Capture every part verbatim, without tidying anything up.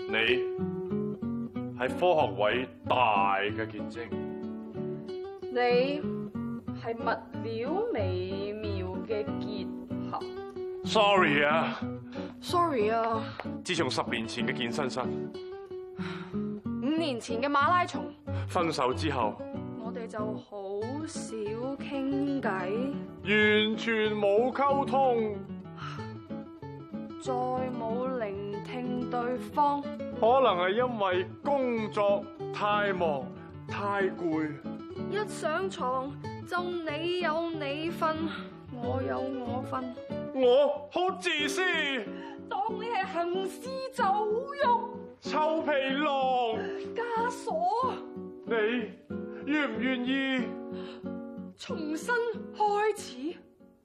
你係科學偉大嘅結晶， 你係物料美妙嘅結合。 Sorry 啊 Sorry 啊， 自從十年前嘅健身室， 五年前嘅馬拉松， 分手之後， 我哋就好少傾偈， 完全冇溝通， 再冇聆聽對方。 可能係因為工作太忙太攰， 一上床就你有你份，我有我份。 我好自私， 當你係行屍走肉、 臭皮囊枷鎖， 你願唔願意重新開始？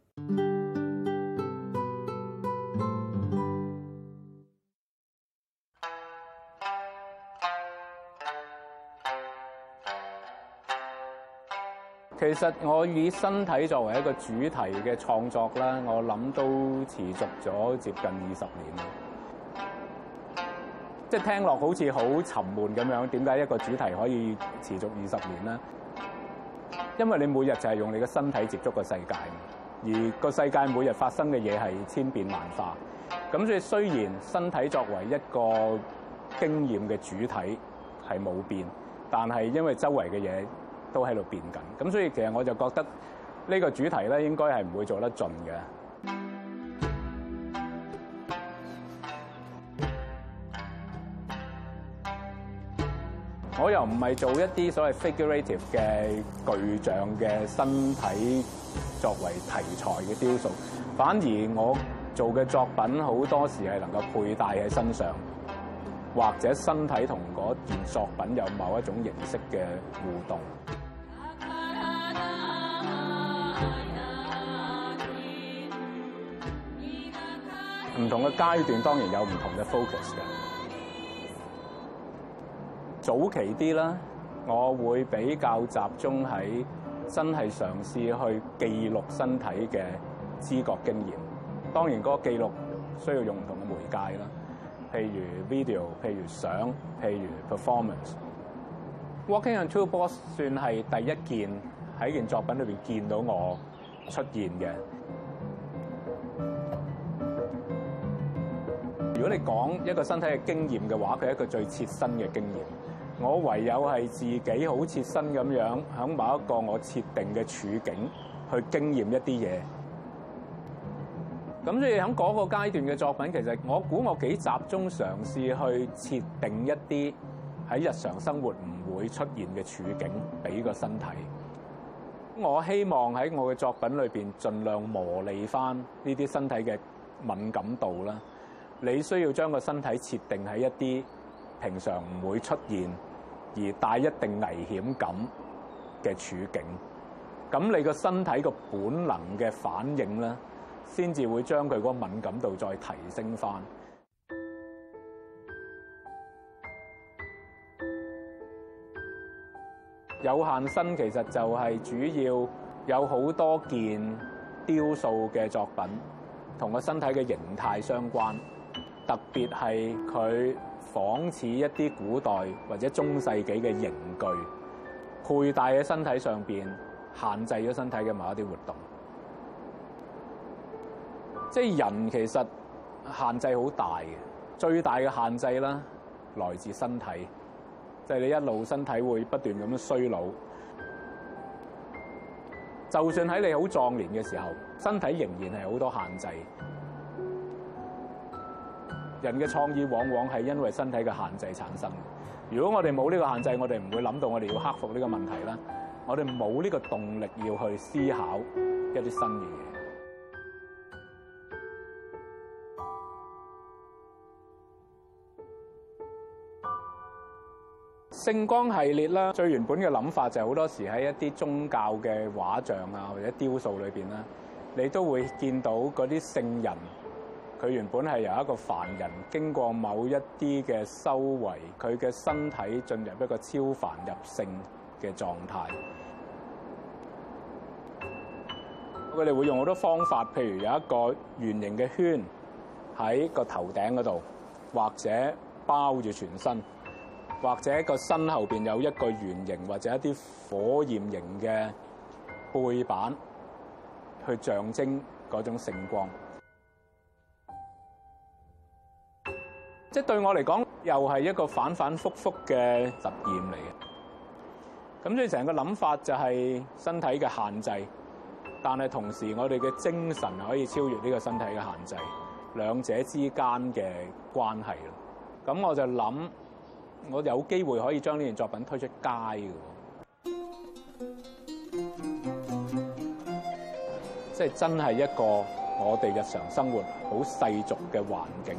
其實我以身體作為一個主題嘅創作啦，我諗都持續咗接近二十年啦。即係聽落好似好沉悶咁樣，點解一個主題可以持續二十年呢？因為你每日就係用你嘅身體接觸個世界，而個世界每日發生嘅嘢係千變萬化。咁所以雖然身體作為一個經驗嘅主體係冇變，但係因為周圍嘅嘢都喺度變緊，咁所以其實我就覺得呢個主題咧應該係唔會做得盡嘅。我又唔係做一啲所謂 figurative 嘅具象嘅身體作為題材嘅雕塑，反而我做嘅作品好多時係能夠佩戴喺身上，或者身體同嗰件作品有某一種形式嘅互動。唔同嘅階段當然有唔同嘅 focus 嘅。早期啲啦，我會比較集中喺真係嘗試去記錄身體嘅知覺經驗。當然嗰個記錄需要用唔同嘅媒介啦，譬如 video， 譬如相，譬如 performance。Walking on Two Balls 算係第一件喺件作品裏邊見到我出現嘅。如果你講一個身體嘅經驗嘅話，佢係一個最切身嘅經驗。我唯有係自己好切身咁樣，喺某一個我設定嘅處境去經驗一啲嘢。咁所以喺嗰個階段嘅作品，其實我估我幾集中嘗試去設定一啲喺日常生活唔會出現嘅處境俾個身體。我希望喺我嘅作品裏邊盡量磨礪翻呢啲身體嘅敏感度啦。你需要將個身體設定喺一啲平常唔會出現而帶一定危險感嘅處境，咁你個身體個本能嘅反應咧，先至會將佢嗰個敏感度再提升翻。有限身其實就係主要有好多件雕塑嘅作品同個身體嘅形態相關。特別係佢仿似一啲古代或者中世紀嘅刑具，佩戴喺身體上邊，限制咗身體嘅某一啲活動。即係人其實限制好大嘅，最大嘅限制啦，來自身體，即係你一路身體會不斷咁樣衰老。就算喺你好壯年嘅時候，身體仍然係好多限制。人嘅創意往往係因為身體嘅限制產生。如果我哋冇呢個限制，我哋唔會諗到我哋要克服呢個問題啦。我哋冇呢個動力要去思考一啲新嘅嘢。聖光系列啦，最原本嘅諗法就係好多時喺一啲宗教嘅畫像啊或者雕塑裏邊啦，你都會見到嗰啲聖人。佢原本係由一個凡人經過某一啲嘅修為，佢嘅身體進入一個超凡入聖嘅狀態。佢哋會用好多方法，譬如有一個圓形嘅圈喺個頭頂嗰度，或者包住全身，或者個身後邊有一個圓形或者一啲火焰形嘅背板，去象徵嗰種聖光。即係對我嚟講，又係一個反反覆覆嘅實驗嚟嘅。咁所以成個諗法就係身體嘅限制，但係同時我哋嘅精神可以超越呢個身體嘅限制，兩者之間嘅關係咯。咁我就諗，我有機會可以將呢件作品推出街嘅，即係真係一個我哋日常生活好世俗嘅環境。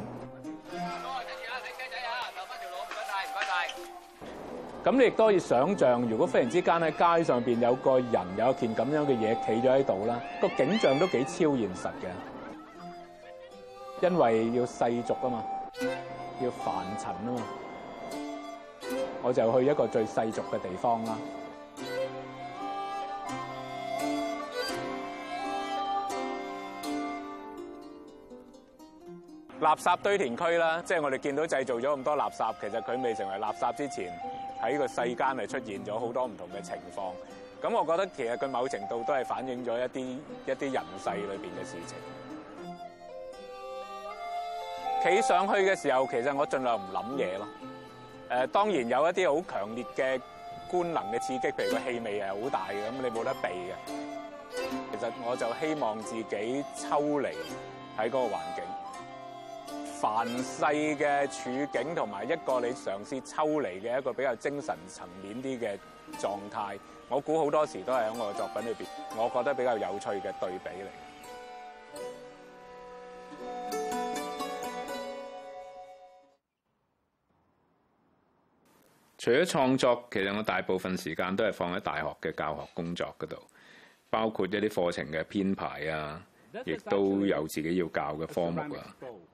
咁你亦都可以想像，如果忽然之間喺街上邊有個人有一件咁樣嘅嘢企咗喺度啦，個景象都幾超現實嘅，因為要世俗啊嘛，要凡塵啊嘛，我就去一個最世俗嘅地方啦。垃圾堆填區啦，即係我哋見到製造咗咁多垃圾，其實佢未成為垃圾之前，喺個世間係出現咗好多唔同嘅情況。咁我覺得其實佢某程度都係反映咗一啲一啲人世裏邊嘅事情。企上去嘅時候，其實我盡量唔諗嘢咯。誒，當然有一啲好強烈嘅官能嘅刺激，譬如個氣味係好大嘅，咁你冇得避嘅。其實我就希望自己抽離喺嗰個環境。凡世嘅處境同埋一個你嘗試抽離嘅一個比較精神層面啲嘅狀態，我估好多時都係喺我嘅作品裏邊，我覺得比較有趣嘅對比嚟。除咗創作，其實我大部分時間都係放喺大學嘅教學工作嗰度，包括一啲課程嘅編排啊，亦都有自己要教嘅科目啊。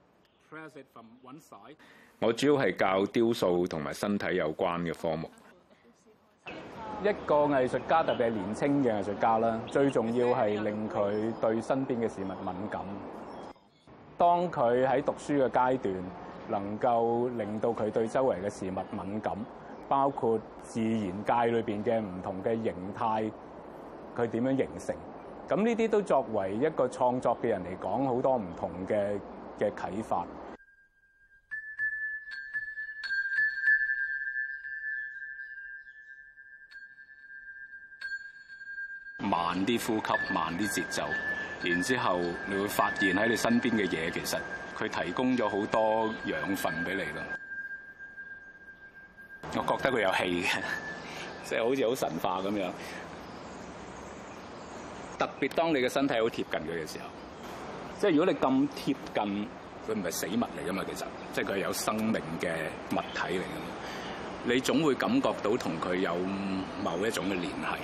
我主要係教雕塑同埋身體有關嘅科目。一個藝術家，特別係年青嘅藝術家啦，最重要係令佢對身邊嘅事物敏感。當佢喺讀書嘅階段，能夠令到佢對周圍嘅事物敏感，包括自然界裏邊嘅唔同嘅形態，佢點樣形成？咁呢啲都作為一個創作嘅人嚟講，好多唔同嘅嘅啟發。慢啲呼吸，慢啲節奏，然之後你會發現喺你身邊嘅嘢，其實佢提供咗好多養分俾你咯。我覺得佢有氣嘅，即係好似好神化咁樣。特別當你嘅身體好貼近佢嘅時候，即係如果你咁貼近，佢唔係死物嚟噶嘛，其實即係佢係有生命嘅物體嚟噶嘛，你總會感覺到同佢有某一種嘅聯繫。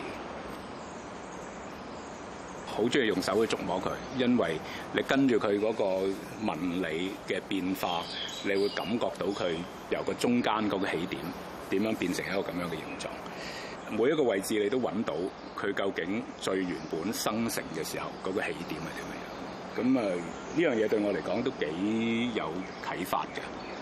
好中意用手去觸摸佢，因為你跟住佢嗰個紋理嘅變化，你會感覺到佢由個中間嗰個起點點樣變成一個咁樣嘅形狀。每一個位置你都揾到佢究竟最原本生成嘅時候嗰個起點係點樣。咁啊，呢樣嘢對我嚟講都幾有啟發嘅。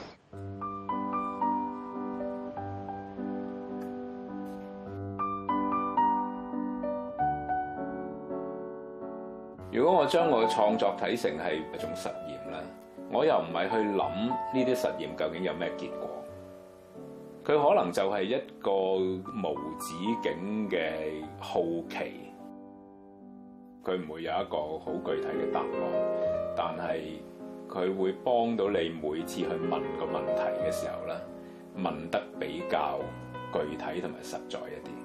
如果我將我嘅創作睇成係一種實驗咧，我又唔係去諗呢啲實驗究竟有咩結果，佢可能就係一個無止境嘅好奇，佢唔會有一個好具體嘅答案，但係佢會幫到你每次去問個問題嘅時候咧，問得比較具體同埋實在一啲。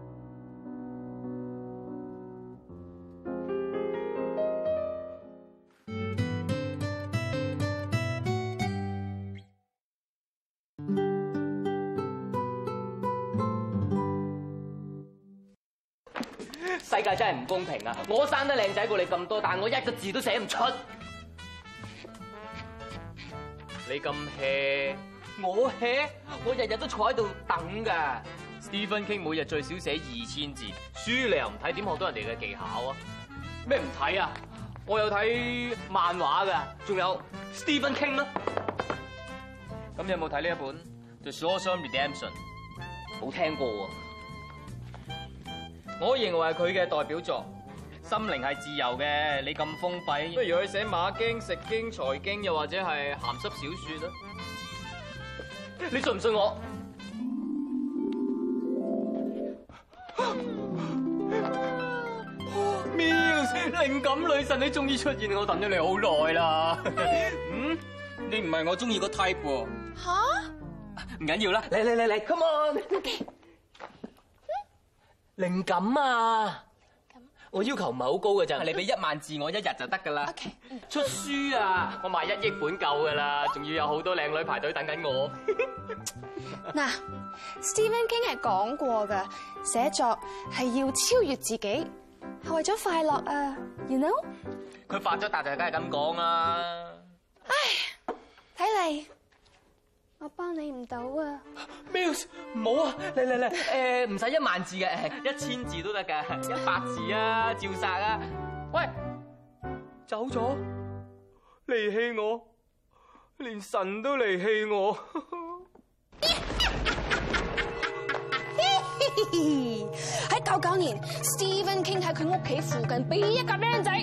世界真係唔公平啊！我生得靚仔過你咁多，但我一個字都寫唔出。你咁 hea， 我 hea， 我日日都坐喺度等㗎。Stephen King 每日最少寫二千字，書你又唔睇，點學到人哋嘅技巧啊？咩唔睇啊？我有睇漫畫㗎，仲有 Stephen King 啦。 咁你有冇睇呢一本《The Shawshank Redemption》？冇聽過喎。我認為係佢嘅代表作。心靈係自由嘅，你咁封閉，不如去寫馬經、食經、財經，又或者係鹹濕小説啦。你信唔信我？Mills，靈感女神，你終於出現，我等咗你好耐啦。嗯，你唔係我中意個 type 喎。吓？唔緊要啦，嚟嚟嚟嚟 ，come on。靈感啊！我要求唔係好高㗎咋，你俾一萬字我一日就得㗎啦。 Okay. 出書啊，我賣一億本夠㗎啦，仲要有好多靚女排隊等緊我。 嗱，Stephen King 係講過㗎，寫作係要超越自己，係為咗快樂啊 ，you know？ 佢發咗達就梗係咁講啦。 唉，睇嚟我幫你唔到啊。 Mills， 唔好啊，嚟嚟嚟，誒唔使一萬字嘅，一千字都得㗎，一百字啊，照殺啊！喂，走咗，離棄我，連神都離棄我。 喺九九年 ，Stephen King 喺佢屋企附近俾一架僆仔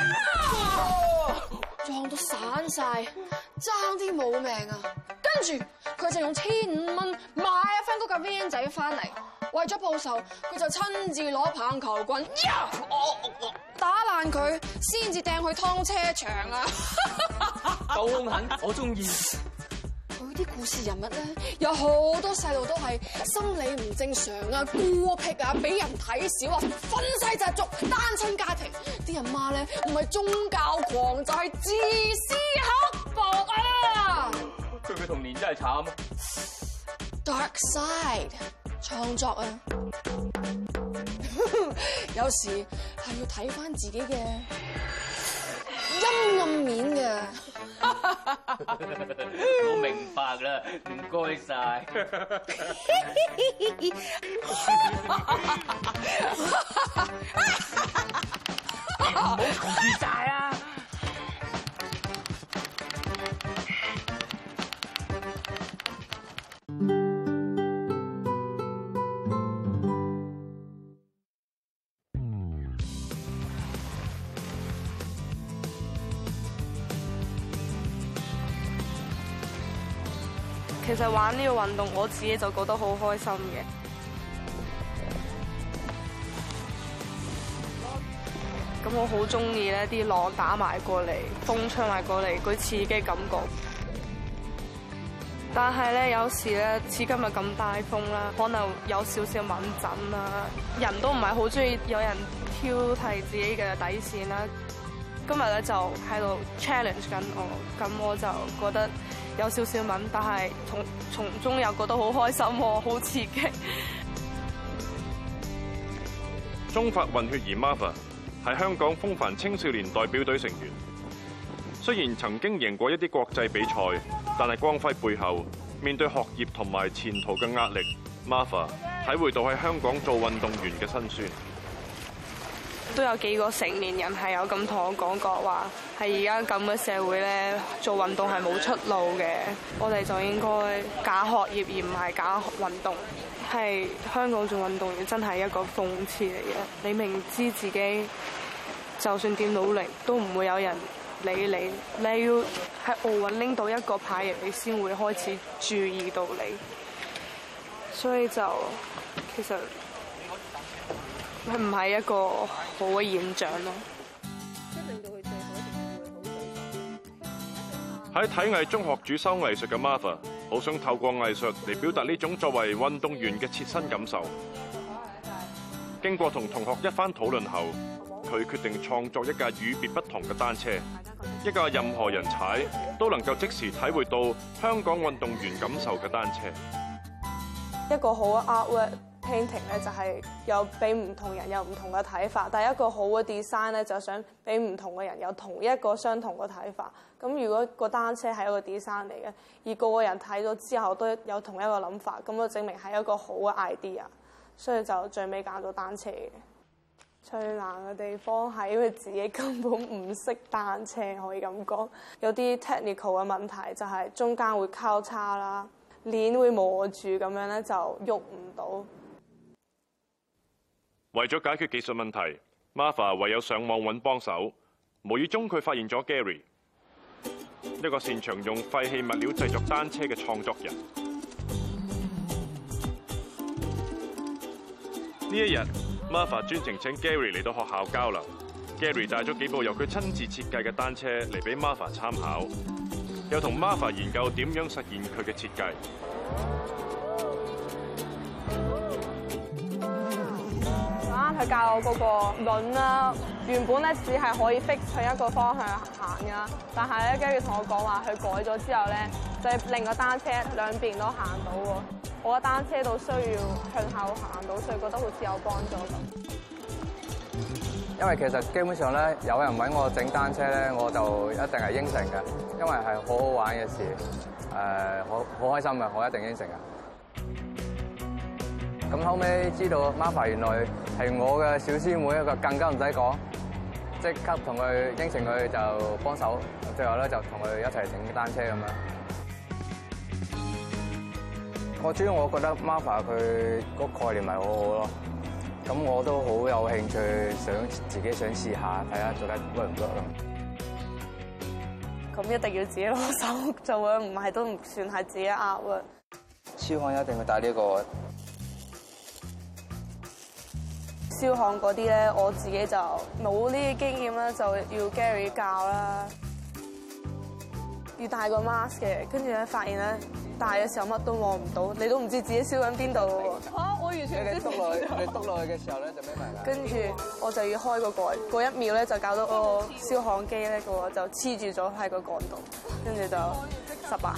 撞到散晒，爭啲冇命啊！跟住佢就用千五蚊買翻嗰架 van 仔翻嚟，為咗報仇，佢就親自攞棒球棍，呀，打爛佢，先至掟去劏車場啊！ 夠兇狠，我中意。 佢啲故事人物咧，有好多細路都係心理唔正常啊、孤僻啊、俾人睇小啊、憤世嫉俗、單親家庭，啲阿媽咧唔係宗教狂就係自私刻薄啊！ 佢嘅童年真係慘。 Dark side 創作啊，有時係要睇翻自己嘅陰暗面嘅。 我明白啦，唔該晒。唔好嘈住晒啊！ 其實玩呢個運動，我自己就覺得好開心嘅。咁我好中意咧啲浪打埋過嚟，風吹埋過嚟，嗰刺激感覺。但係咧，有時咧似今日咁大風啦，可能有少少敏感啦，人都唔係好中意有人挑剔自己嘅底線啦。今日咧就喺度 challenge 緊我，咁我就覺得有少少敏，但係從從中又覺得好開心喎，好刺激。 中法混血兒 Martha 係香港風帆青少年代表隊成員。雖然曾經贏過一啲國際比賽，但係光輝背後，面對學業同埋前途嘅壓力 ，Martha 體會到喺香港做運動員嘅辛酸。 都有幾個成年人係有咁同我講過話，係而家咁嘅社會咧，做運動係冇出路嘅。我哋就應該揀學業而唔係揀運動。係香港做運動員真係一個諷刺嚟嘅。你明知自己就算點努力，都唔會有人理你。你要喺奧運拎到一個牌嘅，你先會開始注意到你。所以就其實佢唔係一個好嘅現象咯。 喺體藝中學主修藝術嘅 Martha， 好想透過藝術嚟表達呢種作為運動員嘅切身感受。經過同同學一番討論後，佢決定創作一架與別不同嘅單車，一架任何人踩都能夠即時體會到香港運動員感受嘅單車。 一個好嘅 artwork painting 咧，就係有俾唔同人有唔同嘅睇法，但係一個好嘅 design 咧，就想俾唔同嘅人有同一個相同嘅睇法。咁如果個單車係一個 design 嚟嘅，而個個人睇咗之後都有同一個諗法，咁就證明係一個好嘅 idea，所以就最尾揀咗單車嘅。 最難嘅地方係因為自己根本唔識單車，可以咁講。有啲 technical 嘅問題就係中間會交叉啦，鏈會磨住咁樣咧就喐唔到。 為咗解決技術問題 ，Martha 唯有上網揾幫手。無意中佢發現咗 Gary， 一個擅長用廢棄物料製作單車嘅創作人。呢一日 ，Martha 專程請 Gary 嚟到學校交流。Gary 帶咗幾部由佢親自設計嘅單車嚟俾 Martha 參考，又同 Martha 研究點樣實現佢嘅設計。 啱佢教我嗰個輪啦，原本咧只係可以 fix 向一個方向行噶，但係咧 Gary 同我講話，佢改咗之後咧，就係令個單車兩邊都行到喎。我嘅單車都需要向後行到，所以覺得好似有幫助咁。 因為其實基本上咧，有人揾我整單車咧，我就一定係應承嘅，因為係好好玩嘅事，誒好好開心嘅，我一定應承嘅。咁後尾知道 Martha 原來係我嘅小師妹，一個更加唔使講，即刻同佢應承佢就幫手，最後咧就同佢一齊整單車咁樣。我主要我覺得 Martha 佢個概念係好好咯，咁我都好有興趣，想自己想試下睇下做得 work 唔 work 咯。 咁一定要自己攞手做啊，唔係都唔算係自己壓啊。 燒焊一定要帶呢個。 燒焊嗰啲咧，我自己就冇呢啲經驗啦，就要 Gary 教啦。要戴個 mask 嘅，跟住咧發現咧戴嘅時候乜都望唔到，你都唔知自己燒緊邊度喎。嚇！我完全唔知。 你篤落去，你篤落去嘅時候咧就咩埋啦。 跟住我就要開個蓋，嗰一秒咧就搞到個燒焊機咧個就黐住咗喺個桿度，跟住就失敗。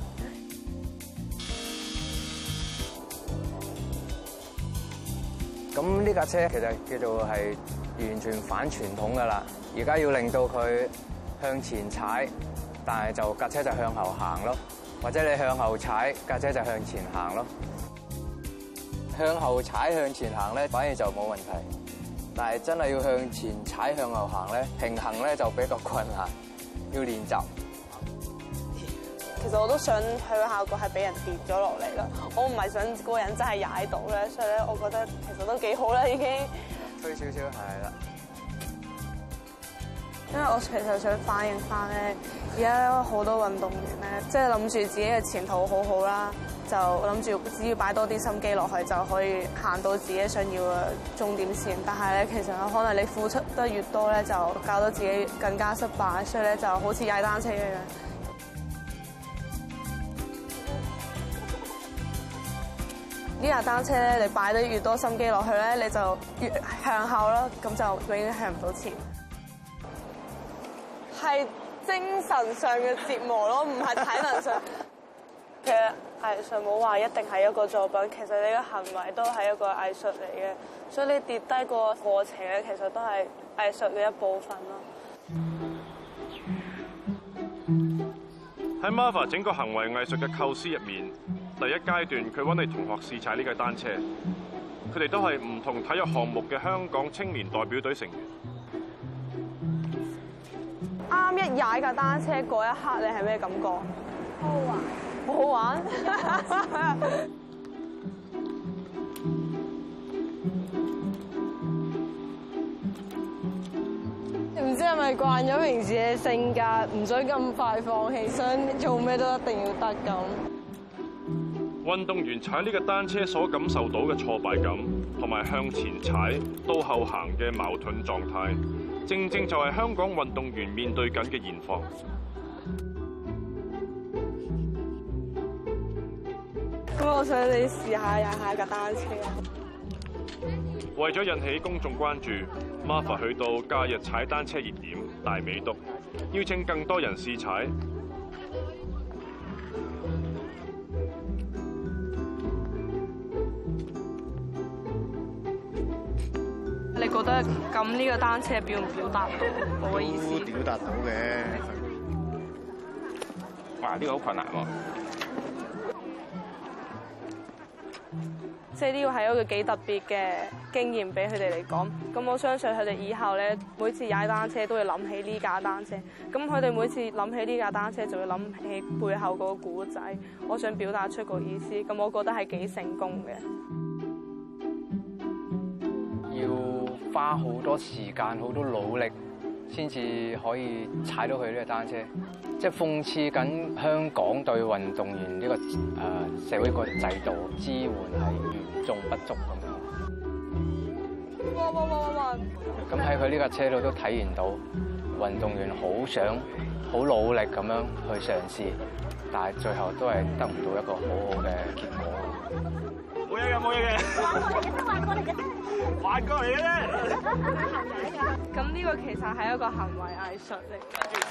咁呢架車其實叫做係完全反傳統㗎啦，而家要令到佢向前踩，但係就架車就向後行咯，或者你向後踩，架車就向前行咯。向後踩向前行咧，反而就冇問題，但係真係要向前踩向後行咧，平衡咧就比較困難，要練習。 其實我都想佢個效果係俾人跌咗落嚟啦，我唔係想嗰個人真係踩到咧，所以咧我覺得其實都幾好啦已經。 推少少係啦。 因為我其實想反映翻咧，而家好多運動員咧，即係諗住自己嘅前途好好啦，就諗住只要擺多啲心機落去就可以行到自己想要嘅終點線。但係咧，其實可能你付出得越多咧，就搞到自己更加失敗，所以咧就好似踩單車一樣。呢架單車咧，你擺得越多心機落去咧，你就越向後咯，咁就永遠向唔到前。係精神上嘅折磨咯，唔係體能上。其實藝術冇話一定係一個作品，其實你嘅行為都係一個藝術嚟嘅，所以你跌低個過程咧，其實都係藝術嘅一部分咯。 喺 Martha 整個行為藝術嘅構思入面，第一階段佢揾嚟同學試踩呢架單車，佢哋都係唔同體育項目嘅香港青年代表隊成員。 啱一踩架單車嗰一刻，你係咩感覺？好玩，好玩。 唔知係咪慣咗平時嘅性格，唔想咁快放棄，想做咩都一定要得咁。 運動員踩呢個單車所感受到嘅挫敗感，同埋向前踩到後行嘅矛盾狀態，正正就係香港運動員面對緊嘅現況。 咁我想你試下踩下架單車。 為咗引起公眾關注 ，Martha 去到假日踩單車熱點大美督，邀請更多人試踩。 你覺得咁呢個單車表唔表達到我嘅意思？ 都表達到嘅。哇！呢個好困難喎。 即係呢個係一個幾特別嘅經驗俾佢哋嚟講。咁我相信佢哋以後咧，每次踩單車都會諗起呢架單車。咁佢哋每次諗起呢架單車，就會諗起背後嗰個故仔。我想表達出個意思，咁我覺得係幾成功嘅。 要花好多時間、好多努力，先至可以踩到佢呢個單車。即係諷刺緊香港對運動員呢個誒社會個制度支援係嚴重不足咁樣。 哇哇哇哇哇！ 咁喺佢呢架車度都體現到運動員好想、好努力咁樣去嘗試，但係最後都係得唔到一個好好嘅結果。 冇嘢嘅，冇嘢嘅。滑過嚟嘅啫，滑過嚟嘅啫。 咁呢個其實係一個行為藝術嚟嘅。